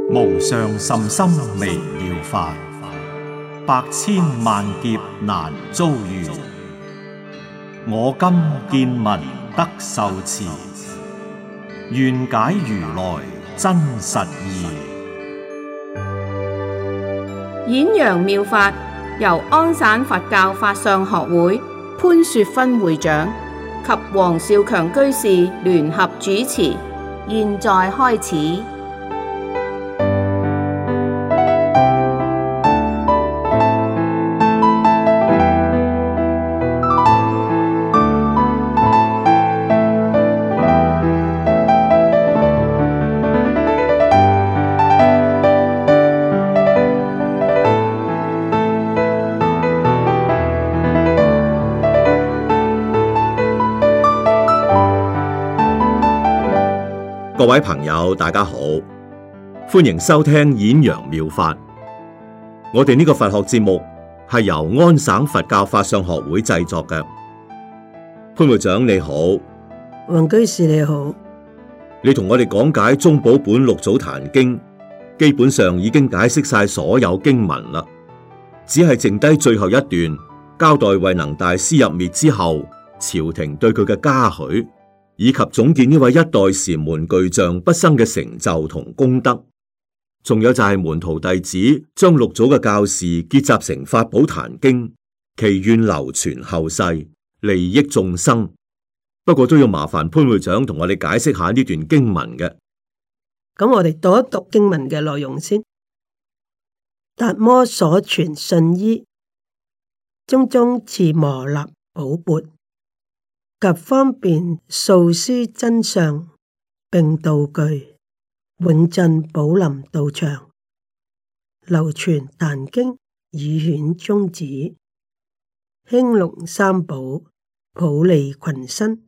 無上甚深微妙法，百千萬劫難遭遇。我今見聞得受持，願解如來真實義。 演揚妙法由安省佛教法相學會潘雪芬會長及黃少強居士聯合主持，現在開始。 各位朋友，大家好，歡迎收聽演揚妙法。我哋呢個佛學節目係由安省佛教法相學會製作嘅。潘會長你好， 黃居士你好， 你同我哋講解宗寶本六祖壇經，基本上已經解釋晒所有經文啦，只係剩低最後一段交代慧能大師入滅之後，朝廷對佢嘅嘉許，以及總結呢位一代禪門巨匠畢生嘅成就同功德，仲有就係門徒弟子將六祖嘅教示結集成法寶壇經，祈願流傳後世，利益眾生。不過都要麻煩潘會長同我哋解釋下呢段經文嘅。 咁我哋讀一讀經文嘅內容先。達摩所傳信衣，中中賜磨衲寶鉢，及方便訴諸真相，並道具永鎮寶林道場，流傳壇經以顯宗旨，興隆三寶，普利群生。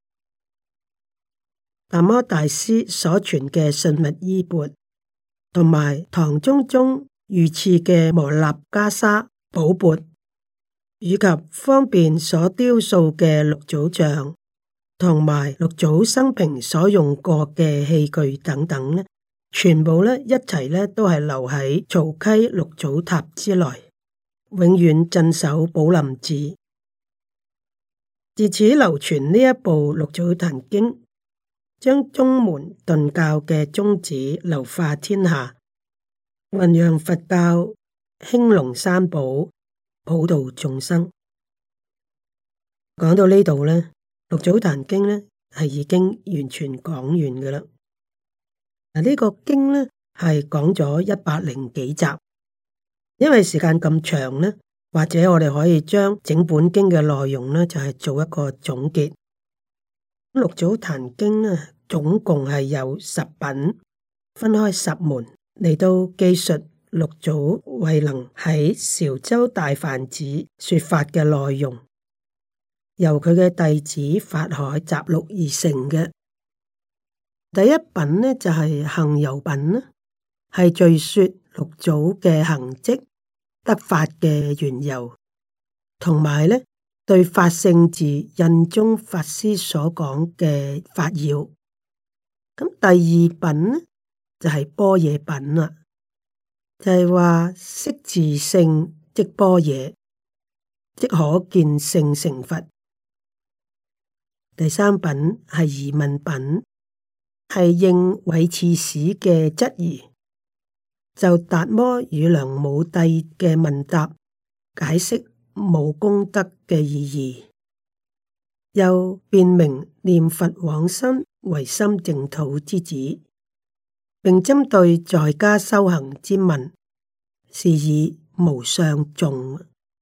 達摩大師所傳嘅信物衣鉢，同埋唐中宗御賜嘅磨衲袈裟寶鉢，以及方便所雕塑嘅六祖像，同埋六祖生平所用過嘅器具等等呢，全部呢一齊呢都係留喺曹溪六祖塔之內，永遠鎮守寶林寺。自此流傳呢一部六祖壇經，將宗門頓教嘅宗旨流化天下，弘揚佛教，興隆三寶，普度眾生。講到呢度呢，六祖壇經呢係已經完全講完嘅啦。嗱，呢個經呢係講咗100幾集，因為時間咁長呢，或者我哋可以將整本經嘅內容呢就係做一個總結。六祖壇經呢總共係有10品，分開10門嚟到記述六祖慧能喺韶州大梵寺說法嘅內容，由佢嘅弟子法海集錄而成嘅。第一品呢就係行由品啦，係敘說六祖嘅行跡、得法嘅緣由，同埋呢對法性寺印宗法師所講嘅法要。咁第二品呢就係般若品啦。就係話識自性即般若，即可見性成佛。第三品係疑問品，係應韋刺史嘅質疑，就達摩與梁武帝嘅問答，解釋無功德嘅意義，又辨明念佛往生為心淨土之旨。並針對在家修行之問，是以無相頌。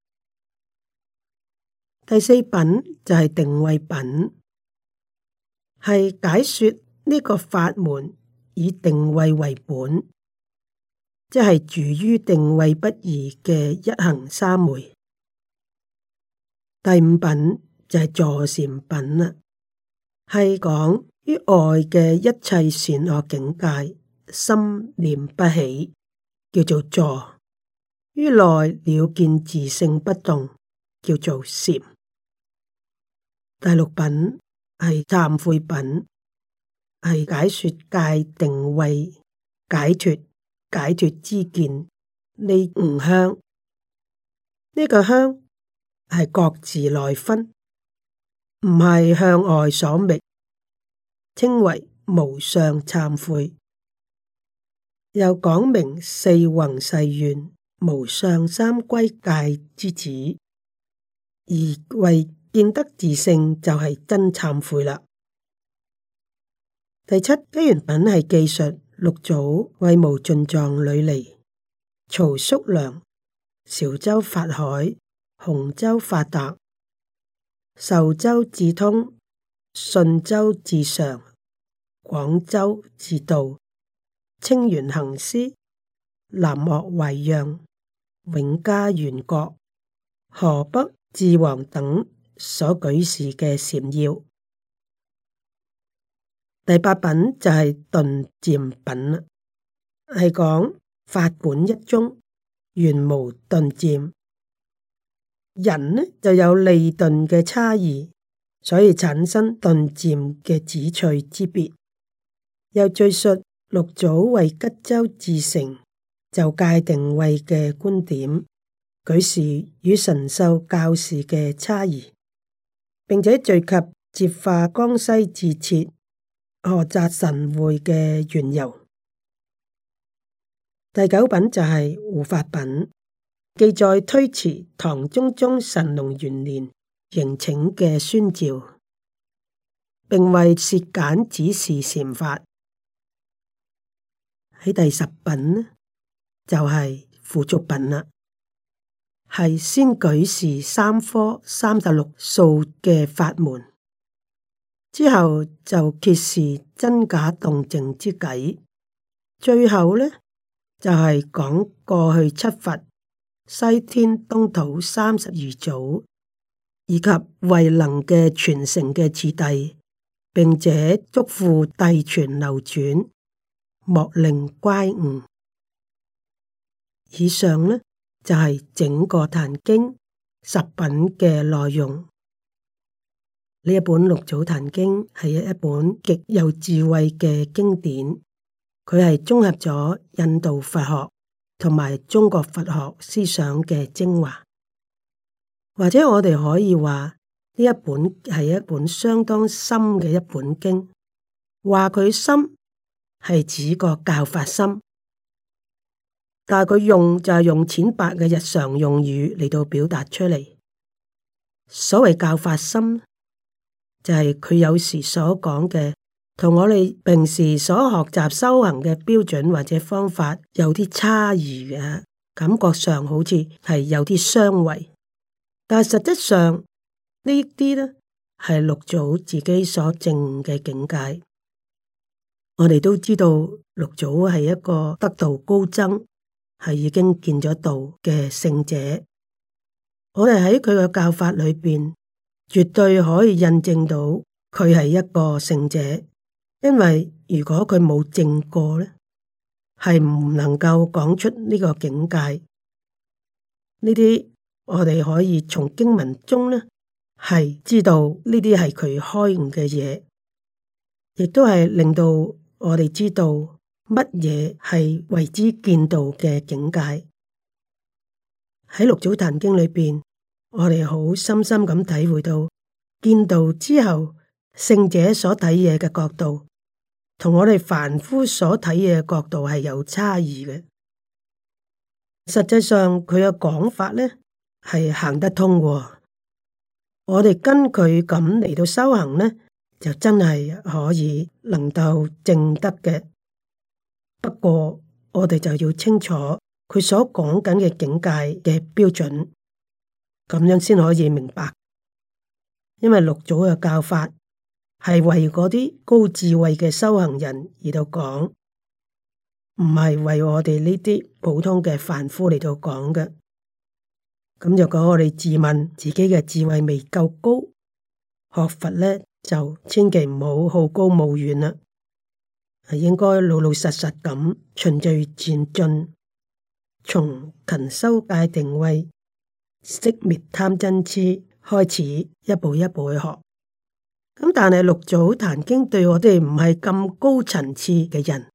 第四品就係定慧品，係解說呢個法門以定慧為本，即係住於定慧不二嘅一行三昧。第五品就係坐禪品啦，係講於外嘅一切善惡境界，心念不起，叫做坐；於內了見自性不動，叫做禪。第六品係懺悔品，係解說戒定慧解脫解脫之見，呢五香。呢個香係各自內分，唔係向外所覓，稱為無相懺悔。又講明四弘誓願、無相三歸戒之旨，而為見得自性就係真懺悔啦。第七機緣品係記述六祖為無盡藏琉璃、曹叔良、韶州法海、洪州法達、壽州智通、順州智常、廣州智道、清源行思、南岳慧讓、永嘉元覺、河北智王等所舉示嘅禪要。第八品就係頓漸品啦，係講法本一宗，原無頓漸。人呢就有利鈍嘅差異，所以產生頓漸嘅旨趣之別。又敘述六祖為吉州至誠就戒定慧嘅觀點，舉示與神秀教士嘅差異，並且敘及接化江西智徹菏澤神會嘅緣由。第九品就係護法品，記載推辭唐中宗神龍元年迎請嘅宣詔，並為涉簡指示禪法。喺第十品呢，就係付囑品啦，係先舉示三科36數嘅法門，之後就揭示真假動靜之偈，最後呢就係講過去七佛、西天東土32祖以及慧能嘅傳承嘅次第，並且囑咐遞傳流轉，莫令乖誤。以上呢就係整個壇經十品嘅內容。呢一本六祖壇經係一本極有智慧嘅經典，佢係綜合咗印度佛學同埋中國佛學思想嘅精華，或者我哋可以話呢一本係一本相當深嘅一本經。話佢深係指個教法深，但係佢用就係用淺白嘅日常用語嚟到表達出嚟。所謂教法深，就係佢有時所講嘅，同我哋平時所學習修行嘅標準或者方法有啲差異嘅，感覺上好似係有啲相違，但係實質上呢啲呢係六祖自己所證嘅境界。我哋都知道六祖係一個得道高僧，係已經見咗道嘅聖者。我哋喺佢嘅教法裏邊，絕對可以印證到佢係一個聖者。因為如果佢冇證過咧，係唔能夠講出呢個境界。呢啲我哋可以從經文中咧係知道呢啲係佢開悟嘅嘢，亦都係令到我哋知道乜嘢係為之見道嘅境界。喺六祖壇經裏邊，我哋好深深咁體會到見道之後，聖者所睇嘢嘅角度，同我哋凡夫所睇嘢嘅角度係有差異嘅。實際上佢嘅講法咧係行得通嘅。我哋跟佢咁嚟到修行咧，就真係可以能夠證得嘅。不過我哋就要清楚佢所講緊嘅境界嘅標準，咁樣先可以明白。因為六祖嘅教法係為嗰啲高智慧嘅修行人而到講，唔係為我哋呢啲普通嘅凡夫嚟到講嘅。咁如果我哋自問自己嘅智慧未夠高，學佛咧就千祈唔好好高騖遠啦，係應該老老實實咁循序漸進，從勤修戒定慧、息滅貪嗔癡開始，一步一步去學。咁但係六祖壇經對我哋唔係咁高層次嘅人，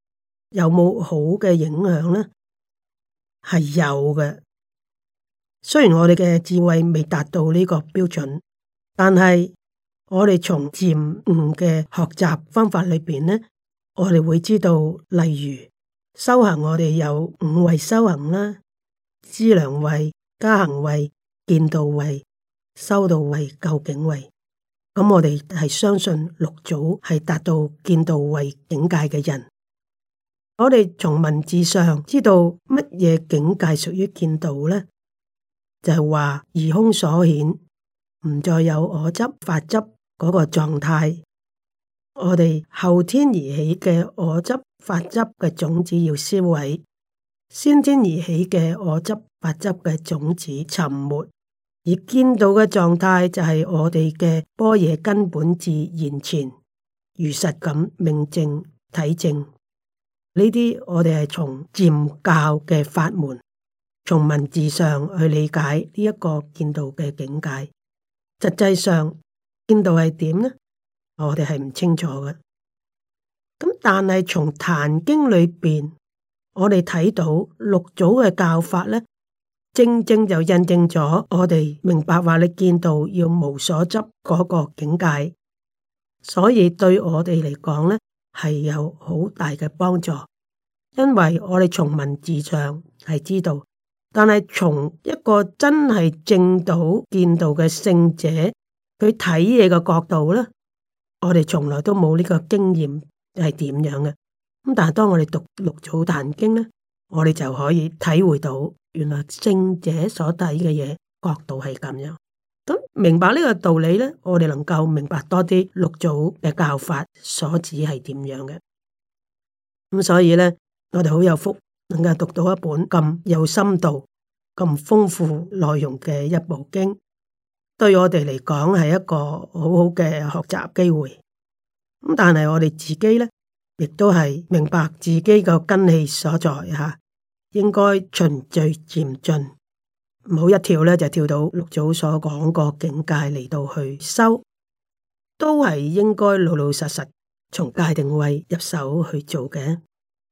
有冇好嘅影響呢？係有嘅。雖然我哋嘅智慧未達到呢個標準，但係我哋從漸悟嘅學習方法裏邊呢，我哋會知道，例如修行，我哋有五位修行啦，資糧位、加行位、見道位、修道位、究竟位。咁我哋係相信六祖係達到見道位境界嘅人。我哋從文字上知道乜嘢境界屬於見道呢？就係話二空所顯，唔再有我執、法執嗰個狀態。我哋後天而起嘅我執、法執嘅種子要銷毀，先天而起嘅我執、法執嘅種子沉沒。而見道嘅狀態就係我哋嘅般若根本自現前，如實咁明證體證。呢啲我哋係從漸教嘅法門，從文字上去理解呢一個見道嘅境界。實際上見道係點呢？我哋係唔清楚嘅。咁但係從壇經裏邊，我哋睇到六祖嘅教法呢，正正就印證咗我哋明白話你見道要無所執嗰個境界，所以對我哋嚟講呢係有好大嘅幫助，因為我哋從文字上係知道，但係從一個真係證到見道嘅聖者，佢睇嘢嘅角度呢，我哋從來都冇呢個經驗係點樣嘅。咁但係當我哋讀六祖壇經呢，我哋就可以體會到。原來聖者所睇嘅嘢角度係咁樣，咁明白呢個道理呢，我哋能夠明白多啲六祖嘅教法所指係點樣嘅。咁所以呢，我哋好有福，能夠讀到一本咁有深度、咁豐富內容嘅一部經，對我哋嚟講係一個好好嘅學習機會。咁但係我哋自己呢，亦都係明白自己個根器所在吓。應該循序漸進，唔好一跳咧就跳到六祖所講個境界嚟到去修，都係應該老老實實從戒定慧入手去做嘅。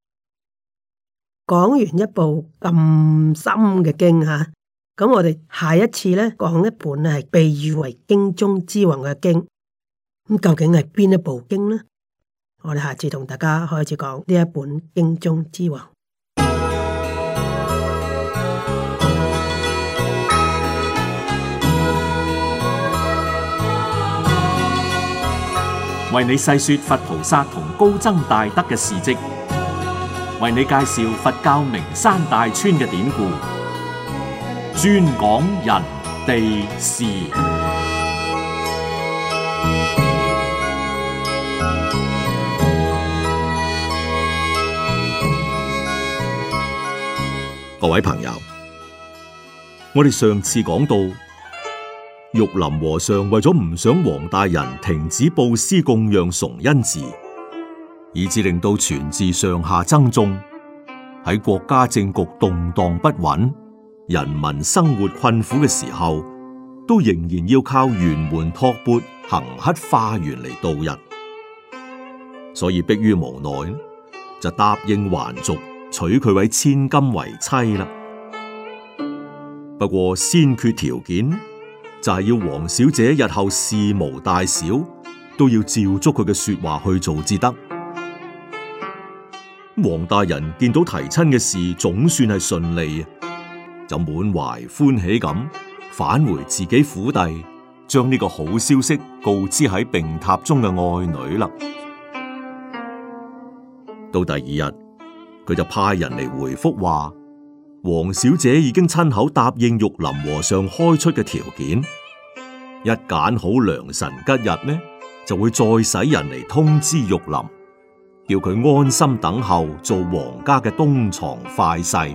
講完一部咁深嘅經吓，咁我哋下一次咧講一本係被譽為經中之王嘅經，咁究竟係邊一部經呢？我哋下次同大家開始講呢一本經中之王。 為你細說佛菩薩同高僧大德嘅事跡，為你介紹佛教名山大川嘅典故，專講人地事。 各位朋友，我哋上次講到，玉林和尚為咗唔想黃大人停止布施供養崇恩寺，以致令到全寺上下僧眾喺國家政局動盪不穩、人民生活困苦嘅時候，都仍然要靠沿門托缽、行乞化緣嚟度日，所以迫於無奈，就答應還俗，娶佢位千金為妻啦。不過先決條件就係要黃小姐日後事無大小都要照足佢嘅說話去做至得。黃大人見到提親嘅事總算係順利，就滿懷歡喜咁返回自己府邸，將呢個好消息告知喺病榻中嘅愛女啦。到第二日，佢就派人嚟回覆話，黃小姐已經親口答應玉林和尚開出嘅條件，一揀好良辰吉日呢，就會再使人嚟通知玉林，叫佢安心等候做皇家嘅東床快婿。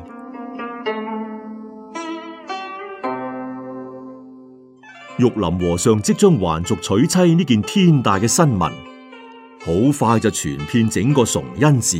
玉林和尚即將還俗娶妻呢件天大嘅新聞，好快就傳遍整個崇恩寺。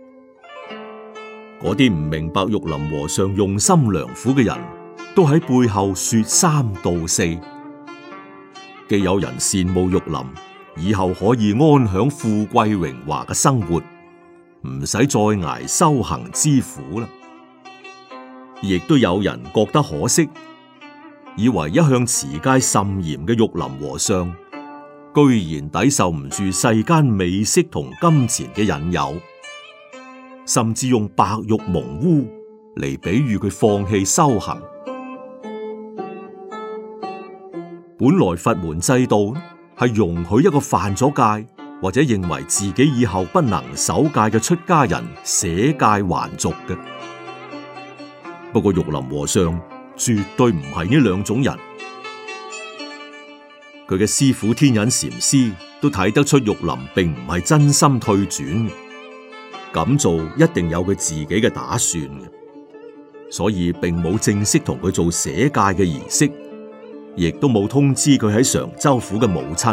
嗰啲唔明白玉林和尚用心良苦嘅人，都喺背後說三道四。既有人羨慕玉林以後可以安享富貴榮華嘅生活， 唔使再捱修行之苦啦。亦都有人覺得可惜，以為一向持戒甚嚴嘅玉林和尚，居然抵受唔住世間美色同金錢嘅引誘，甚至用白玉蒙污嚟比喻佢放棄修行。本來佛門制度係容許一個犯咗戒或者認為自己以後不能守戒嘅出家人捨戒還俗嘅。不過玉林和尚絕對唔係呢兩種人，佢嘅師父天隱禪師都睇得出玉林並唔係真心退轉，咁做一定有佢自己嘅打算嘅，所以並冇正式同佢做捨戒嘅儀式，亦都冇通知佢喺常州府嘅母親。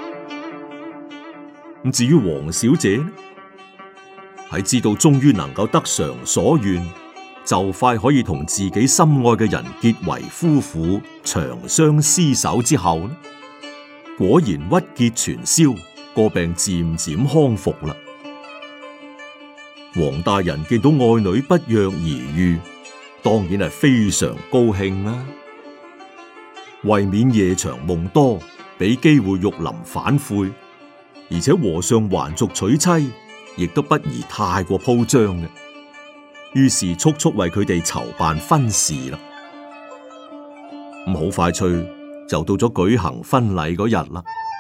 咁至於黃小姐呢，喺知道終於能夠得償所願，就快可以同自己心愛嘅人結為夫婦，長相廝守之後呢，果然鬱結全消，個病漸漸康復啦。黃大人見到愛女不藥而愈，當然係非常高興啦。為免夜長夢多，俾機會玉林反悔，而且和尚還俗娶妻，亦都不宜太過鋪張嘅。於是速速為佢哋籌辦婚事啦。咁好快脆就到咗舉行婚禮嗰日啦。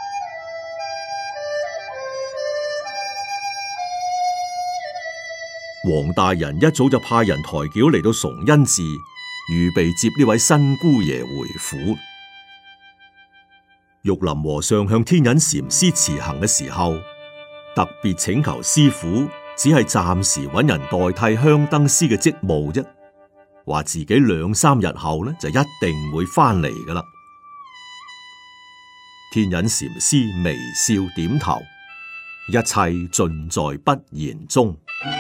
黃大人一早就派人抬轎嚟到崇恩寺，預備接呢位新姑爺回府。玉林和尚向天隱禪師辭行嘅時候，特別請求師父只係暫時揾人代替香燈師嘅職務啫，話自己2、3日後呢就一定會翻嚟噶啦。天隱禪師微笑點頭，一切盡在不言中。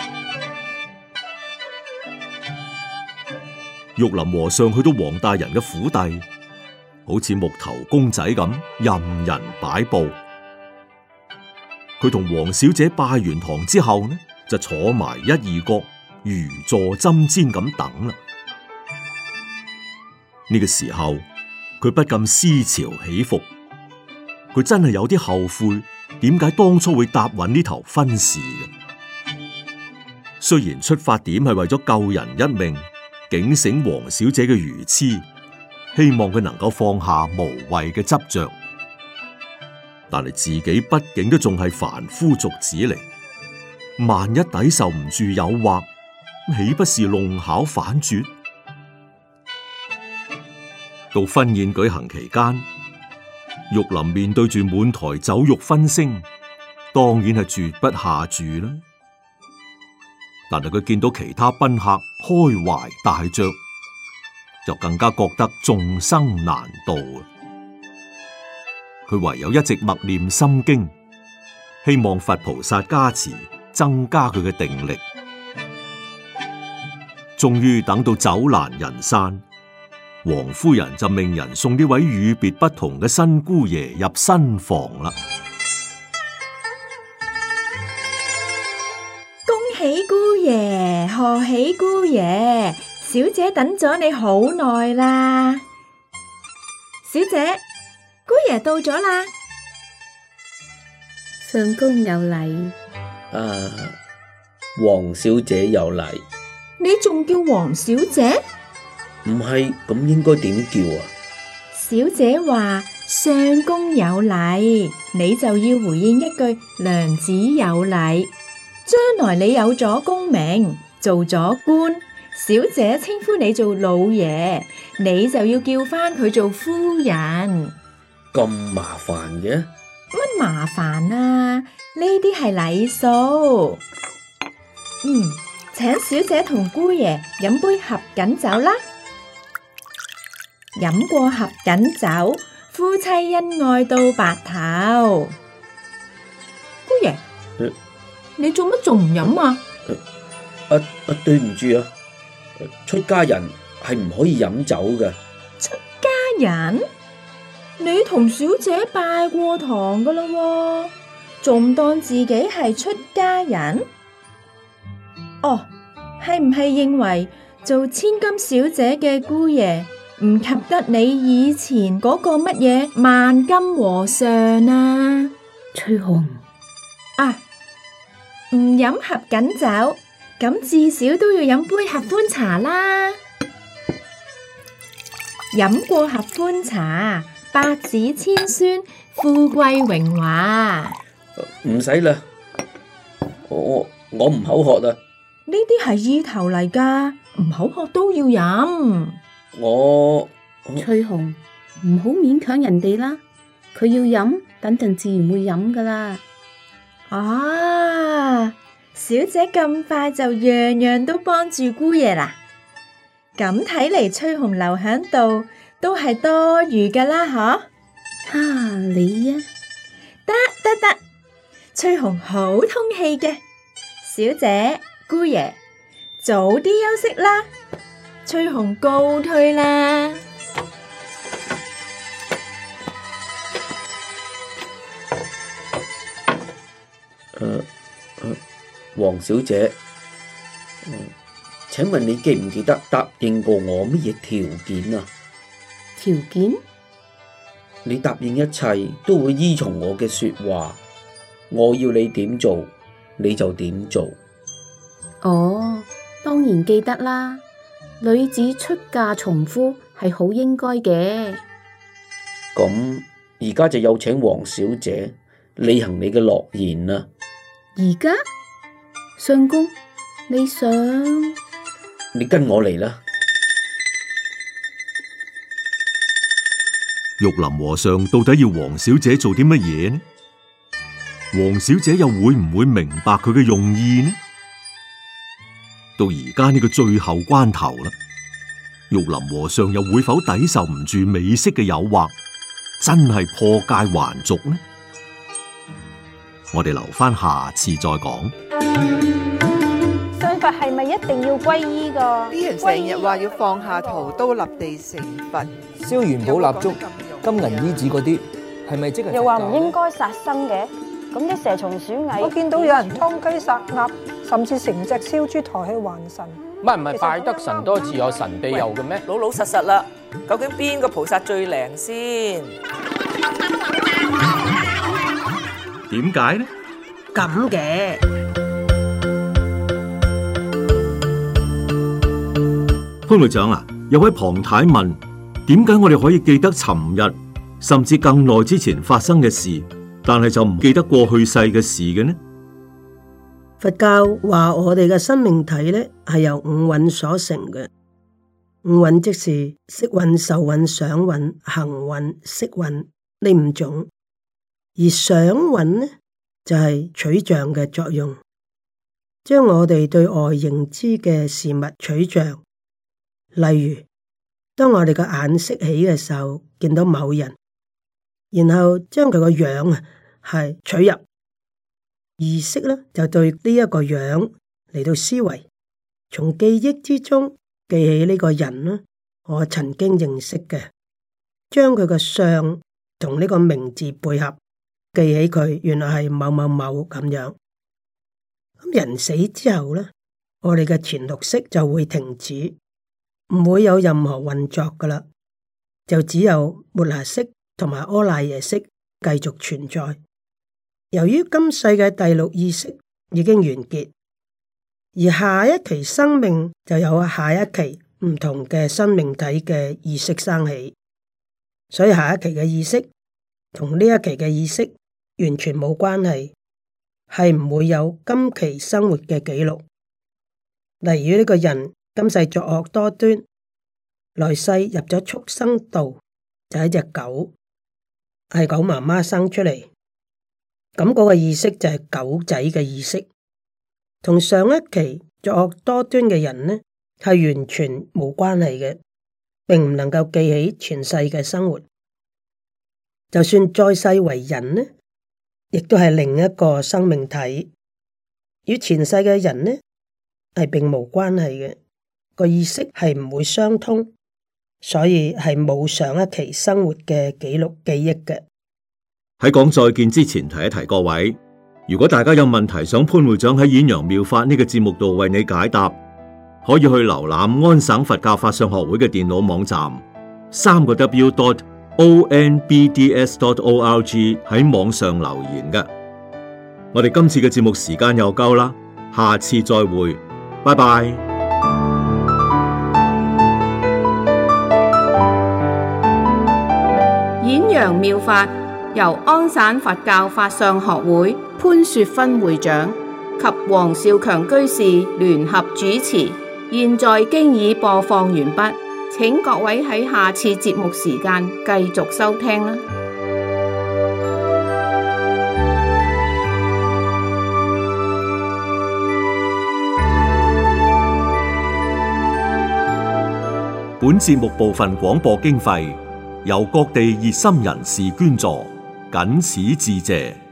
玉林和尚去到黃大人嘅府邸，好似木頭公仔咁任人擺布。佢同黃小姐拜完堂之後呢，就坐埋一二角，如坐針氈咁等啦。呢個時候，佢不禁思潮起伏，佢真係有啲後悔，點解當初會答允呢頭婚事嘅？雖然出發點係為咗救人一命，警醒黃小姐嘅愚癡，希望佢能夠放下無謂嘅執着。但係自己畢竟都仲係凡夫俗子嚟，萬一抵受唔住誘惑，豈不是弄巧反拙？到婚宴舉行期間，玉林面對住滿台酒肉葷腥，當然係絕不下注啦。但係佢見到其他賓客開懷大嚼，就更加覺得眾生難度。佢唯有一直默念心經，希望佛菩薩加持，增加佢嘅定力。終於等到酒闌人散，王夫人就命人送呢位與別不同嘅新姑爺入新房啦。 恭喜姑爺，賀喜姑爺，小姐等咗你好耐啦。小姐，姑爺到咗啦。 相公有禮。 黃小姐有禮。 你仲叫黃小姐？ 唔係，咁應該點叫啊？ 小姐話相公有禮，你就要回應一句娘子有禮。將來你有咗功名，做咗官，小姐稱呼你做老爺，你就要叫翻佢做夫人。 咁麻煩嘅？ 乜麻煩啊？呢啲係禮數。請小姐同姑爺飲杯合卺酒啦。飲過合卺酒，夫妻恩愛到白頭。姑爺，你做乜仲唔飲啊？ 對唔住啊，出家人係唔可以飲酒嘅。 出家人？你同小姐拜過堂噶啦喎，仲當自己係出家人？ 哦，係唔係認為做千金小姐嘅姑爺唔及得你以前嗰個乜嘢萬金和尚啊？ 翠紅啊，唔飲合卺酒，咁至少都要飲杯合歡茶啦。飲過合歡茶，百子千孫，富貴榮華。 唔使啦，我唔口渴啦。 呢啲係意頭嚟噶，唔口渴都要飲。 翠紅，唔好勉強人哋啦，佢要飲，等陣自然會飲噶啦。 啊，小姐咁快就樣樣都幫住姑爺啦，咁睇嚟翠紅留喺度都係多餘噶啦，嗬？ 哈，你啊， 得，翠紅好通氣嘅，小姐姑爺早啲休息啦，翠紅告退啦。 黃小姐，請問你記唔記得答應過我乜嘢條件啊？ 條件？ 你答應一切都會依從我嘅說話，我要你點做你就點做。 哦，當然記得啦，女子出嫁從夫係好應該嘅。 咁而家就有請黃小姐履行你嘅諾言啦。 而家？相公，你想？ 你跟我嚟啦。 玉林和尚到底要黃小姐做啲乜嘢呢？黃小姐又會唔會明白佢嘅用意呢？到而家呢個最後關頭啦，玉林和尚又會否抵受唔住美色嘅誘惑，真係破戒還俗呢？我哋留翻下次再講。 信佛係咪一定要皈依噶？ 啲人成日話要放下屠刀立地成佛， 燒元寶蠟燭、金銀衣紙嗰啲，係咪即係？ 又話唔應該殺生嘅，咁啲蛇蟲鼠蟻， 我見到有人劏雞殺鴨，甚至成隻燒豬抬去還神。 唔係拜得神多自有神庇佑嘅咩？ 老老實實啦，究竟邊個菩薩最靈先？ 點解呢？ 咁嘅潘會長啊，有位龐太問，點解我哋可以記得尋日甚至更耐之前發生嘅事，但係就唔記得過去世嘅事嘅呢？ 佛教話我哋嘅生命體呢係由五蘊所成嘅，五蘊即是色蘊、受蘊、想蘊、行蘊、識蘊呢五種，而想蘊呢就係取像嘅作用，將我哋對外認知嘅事物取像。例如，當我哋嘅眼識起嘅時候，見到某人，然後將佢個樣啊係取入意識咧，就對呢一個樣嚟到思維，從記憶之中記起呢個人啦，我曾經認識嘅，將佢個相同呢個名字配合。記起佢原來係某某某咁樣，咁人死之後咧，我哋嘅前六識就會停止，唔會有任何運作噶啦，就只有末那識同埋阿賴耶識繼續存在。由於今世嘅第六意識已經完結，而下一期生命就有下一期唔同嘅生命體嘅意識生起，所以下一期嘅意識同呢一期嘅意識完全冇關係，係唔會有今期生活嘅記錄。例如呢個人今世作惡多端，來世入咗畜生道，就係隻狗，係狗媽媽生出嚟，咁嗰個意識就係狗仔嘅意識，同上一期作惡多端嘅人呢係完全冇關係嘅，並唔能夠記起前世嘅生活。就算再世為人呢，亦都係另一個生命體，與前世嘅人呢係並無關係嘅，個意識係唔會相通，所以係冇上一期生活嘅記錄記憶嘅。 喺講再見之前，提一提各位， 如果大家有問題想潘會長喺《演揚妙法》呢個節目度為你解答，可以去瀏覽安省佛教法相學會嘅電腦網站3個W.onbds.org 喺網上留言嘅。我哋今次嘅節目時間又夠啦，下次再會，拜拜。 演揚妙法由安省佛教法相學會潘雪芬會長及黃少強居士聯合主持，現在經已播放完畢，請各位喺下次節目時間繼續收聽啦。 本節目部分廣播經費由各地熱心人士捐助，謹此致謝。